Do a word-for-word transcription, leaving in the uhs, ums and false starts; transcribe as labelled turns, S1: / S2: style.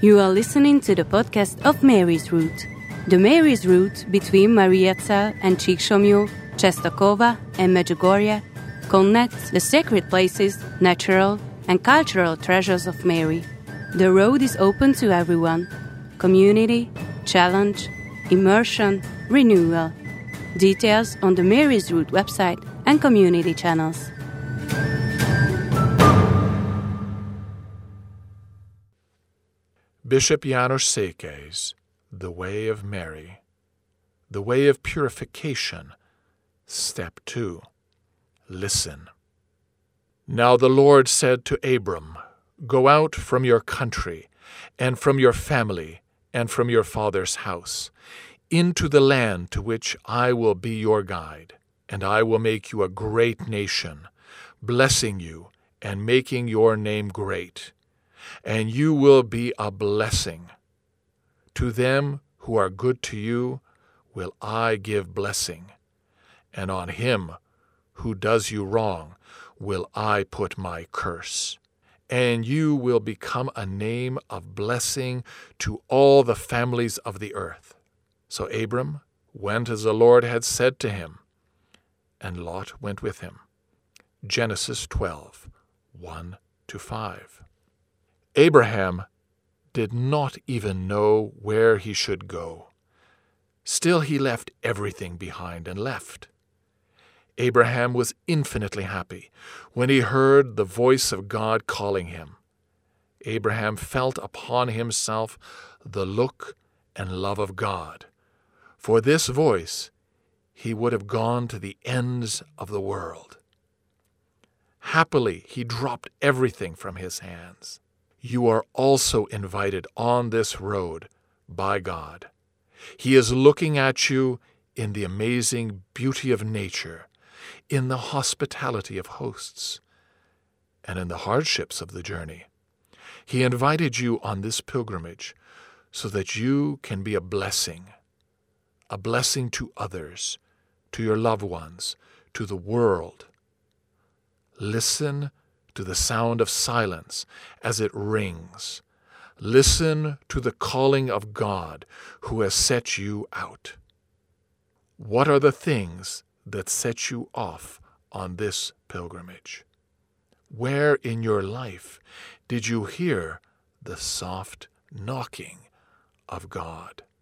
S1: You are listening to the podcast of Mary's Route. The Mary's Route between Mariazell and Csíksomlyó, Czestochowa and Medjugorje connects the sacred places, natural and cultural treasures of Mary. The road is open to everyone. Community, challenge, immersion, renewal. Details on the Mary's Route website and community channels.
S2: Bishop János Székely's The Way of Mary, The Way of Purification, Step two. Listen. Now the Lord said to Abram, Go out from your country, and from your family, and from your father's house, into the land to which I will be your guide, and I will make you a great nation, blessing you and making your name great. And you will be a blessing. To them who are good to you will I give blessing, and on him who does you wrong will I put my curse. And you will become a name of blessing to all the families of the earth. So Abram went as the Lord had said to him, and Lot went with him. Genesis twelve, one to five. Abraham did not even know where he should go. Still he left everything behind and left. Abraham was infinitely happy when he heard the voice of God calling him. Abraham felt upon himself the look and love of God. For this voice he would have gone to the ends of the world. Happily he dropped everything from his hands. You are also invited on this road by God. He is looking at you in the amazing beauty of nature, in the hospitality of hosts, and in the hardships of the journey. He invited you on this pilgrimage so that you can be a blessing, a blessing to others, to your loved ones, to the world. Listen to the sound of silence as it rings. Listen to the calling of God who has set you out. What are the things that set you off on this pilgrimage? Where in your life did you hear the soft knocking of God?